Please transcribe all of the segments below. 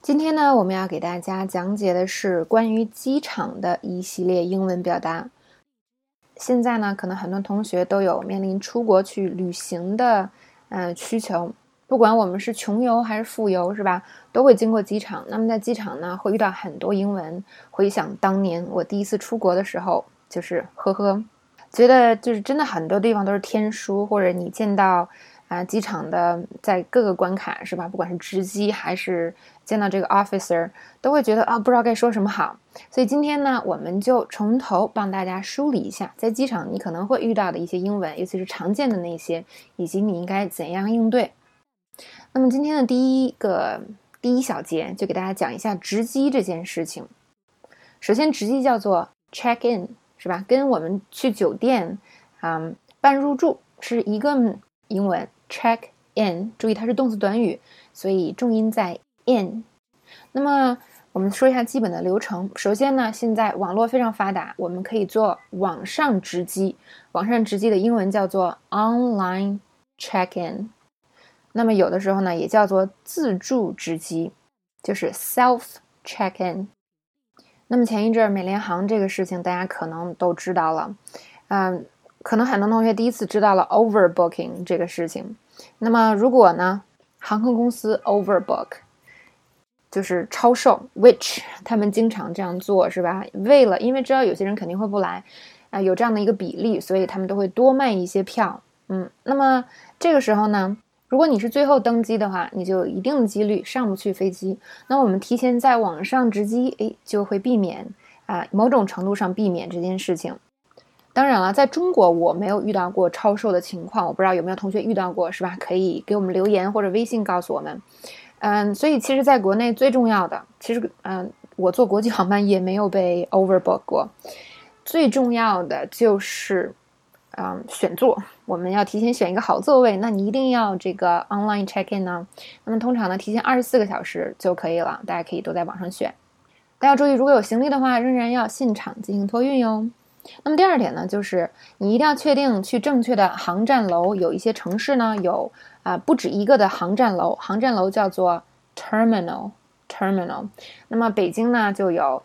今天呢，我们要给大家讲解的是关于机场的一系列英文表达。现在呢，可能很多同学都有面临出国去旅行的需求，不管我们是穷游还是富游，是吧？都会经过机场。那么在机场呢，会遇到很多英文。回想当年我第一次出国的时候，就是觉得就是真的很多地方都是天书，或者你见到机场的在各个关卡，是吧？不管是值机还是见到这个 officer， 都会觉得不知道该说什么好。所以今天呢，我们就从头帮大家梳理一下，在机场你可能会遇到的一些英文，尤其是常见的那些，以及你应该怎样应对。那么今天的第一小节就给大家讲一下值机这件事情。首先，值机叫做 check in， 是吧？跟我们去酒店办入住是一个英文 check in， 注意它是动词短语，所以重音在 in。 那么我们说一下基本的流程。首先呢，现在网络非常发达，我们可以做网上值机。网上值机的英文叫做 online check in， 那么有的时候呢也叫做自助值机，就是 self check in。 那么前一阵美联航这个事情大家可能都知道了，可能很多同学第一次知道了 overbooking 这个事情。那么如果呢航空公司 overbook 就是超售 which 他们经常这样做，是吧？因为知道有些人肯定会不来有这样的一个比例，所以他们都会多卖一些票。那么这个时候呢，如果你是最后登机的话，你就有一定的几率上不去飞机。那我们提前在网上值机就会避免某种程度上避免这件事情。当然了，在中国我没有遇到过超售的情况，我不知道有没有同学遇到过，是吧？可以给我们留言或者微信告诉我们。所以其实在国内最重要的，我坐国际航班也没有被 overbook 过。最重要的就是选座，我们要提前选一个好座位。那你一定要这个 online check in 呢，那么通常呢提前24个小时就可以了，大家可以都在网上选。大家注意，如果有行李的话，仍然要现场进行托运哟。那么第二点呢，就是你一定要确定去正确的航站楼。有一些城市呢有不止一个的航站楼，航站楼叫做 terminal。 那么北京呢就有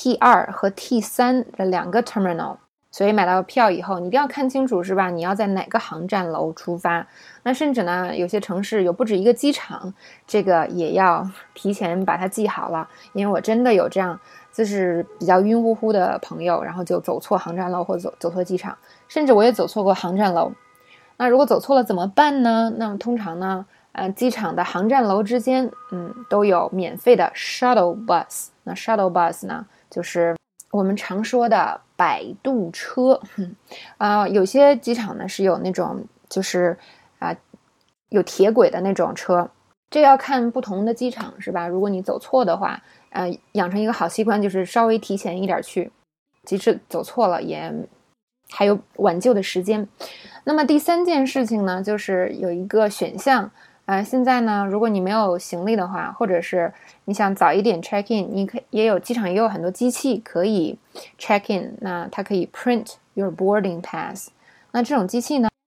T2 和 T3 的两个 terminal， 所以买到票以后你一定要看清楚，是吧？你要在哪个航站楼出发。那甚至呢有些城市有不止一个机场，这个也要提前把它记好了。因为我真的有这样就是比较晕乎乎的朋友，然后就走错航站楼或者走错机场，甚至我也走错过航站楼。那如果走错了怎么办呢？那么通常呢机场的航站楼之间都有免费的 shuttle bus。 那 shuttle bus 呢就是我们常说的摆渡车。有些机场呢是有那种就是有铁轨的那种车，这要看不同的机场，是吧？如果你走错的话养成一个好习惯，就是稍微提前一点去，即使走错了也还有挽救的时间。那么第三件事情呢，就是有一个选项现在呢如果你没有行李的话，或者是你想早一点 check in， 机场也有很多机器可以 check in， 那它可以 print your boarding pass。 那这种机器呢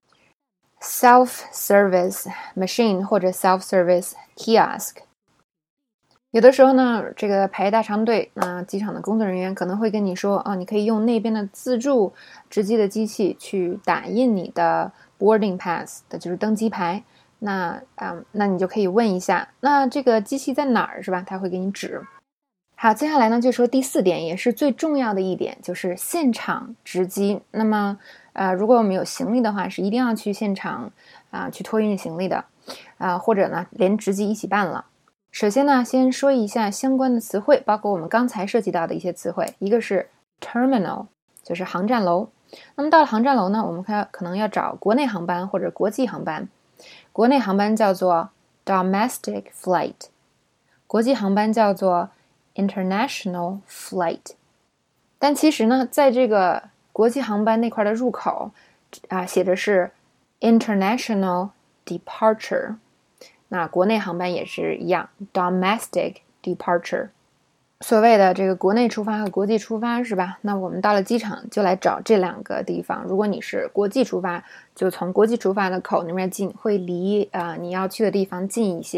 self-service machine 或者 self-service kiosk。 有的时候呢这个排大长队，那机场的工作人员可能会跟你说你可以用那边的自助值机的机器去打印你的 boarding pass 的就是登机牌。那你就可以问一下，那这个机器在哪儿，是吧？他会给你指。好，接下来呢就说第四点，也是最重要的一点，就是现场值机。那么如果我们有行李的话，是一定要去现场去托运行李的或者呢连值机一起办了。首先呢先说一下相关的词汇，包括我们刚才涉及到的一些词汇。一个是 terminal， 就是航站楼。那么到了航站楼呢，我们可能要找国内航班或者国际航班。国内航班叫做 domestic flight， 国际航班叫做 international flight。 但其实呢在这个国际航班那块的入口写的是 international departure， 那国内航班也是一样 domestic departure。所谓的这个国内出发和国际出发，是吧？那我们到了机场就来找这两个地方。如果你是国际出发，就从国际出发的口那边进，会离你要去的地方近一些。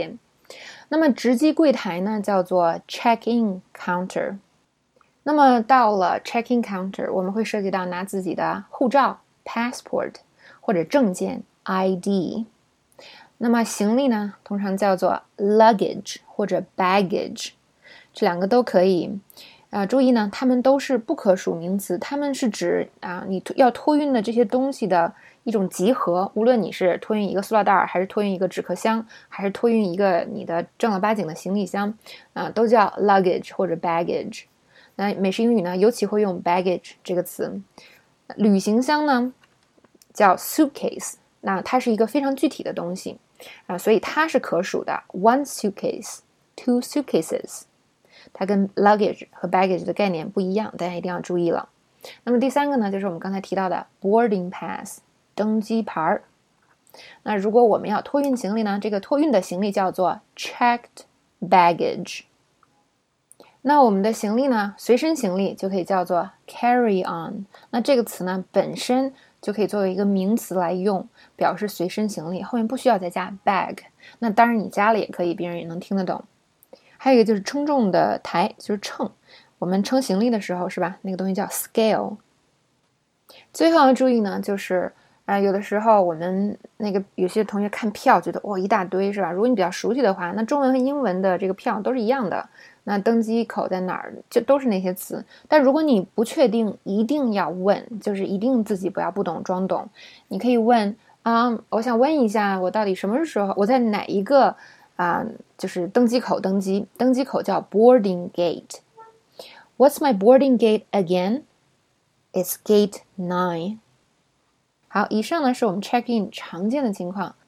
那么值机柜台呢叫做 check-in counter。那么到了 check-in counter， 我们会涉及到拿自己的护照 passport 或者证件 ID。那么行李呢通常叫做 luggage 或者 baggage， 这两个都可以。注意呢，它们都是不可数名词，它们是指你要托运的这些东西的一种集合，无论你是托运一个塑料袋，还是托运一个纸壳箱，还是托运一个你的正儿八经的行李箱，都叫 luggage 或者 baggage。那美式英语呢，尤其会用 baggage 这个词。旅行箱呢叫 suitcase， 那它是一个非常具体的东西所以它是可数的 one suitcase two suitcases， 它跟 luggage 和 baggage 的概念不一样，大家一定要注意了。那么第三个呢，就是我们刚才提到的 boarding pass 登机牌。那如果我们要托运行李呢，这个托运的行李叫做 checked baggage。那我们的行李呢，随身行李就可以叫做 carry on。那这个词呢，本身就可以作为一个名词来用，表示随身行李，后面不需要再加 bag。那当然你加了也可以，别人也能听得懂。还有一个就是称重的台，就是秤。我们称行李的时候，是吧？那个东西叫 scale。最后要注意呢，就是有的时候我们有些同学看票觉得一大堆，是吧？如果你比较熟悉的话，那中文和英文的这个票都是一样的。那登机口在哪儿，就都是那些词。但如果你不确定，一定要问，就是一定自己不要不懂装懂。你可以问我想问一下，我到底什么时候，我在哪一个就是登机口登机？登机口叫 boarding gate。What's my boarding gate again? It's gate 9。好，以上呢是我们 check in 常见的情况。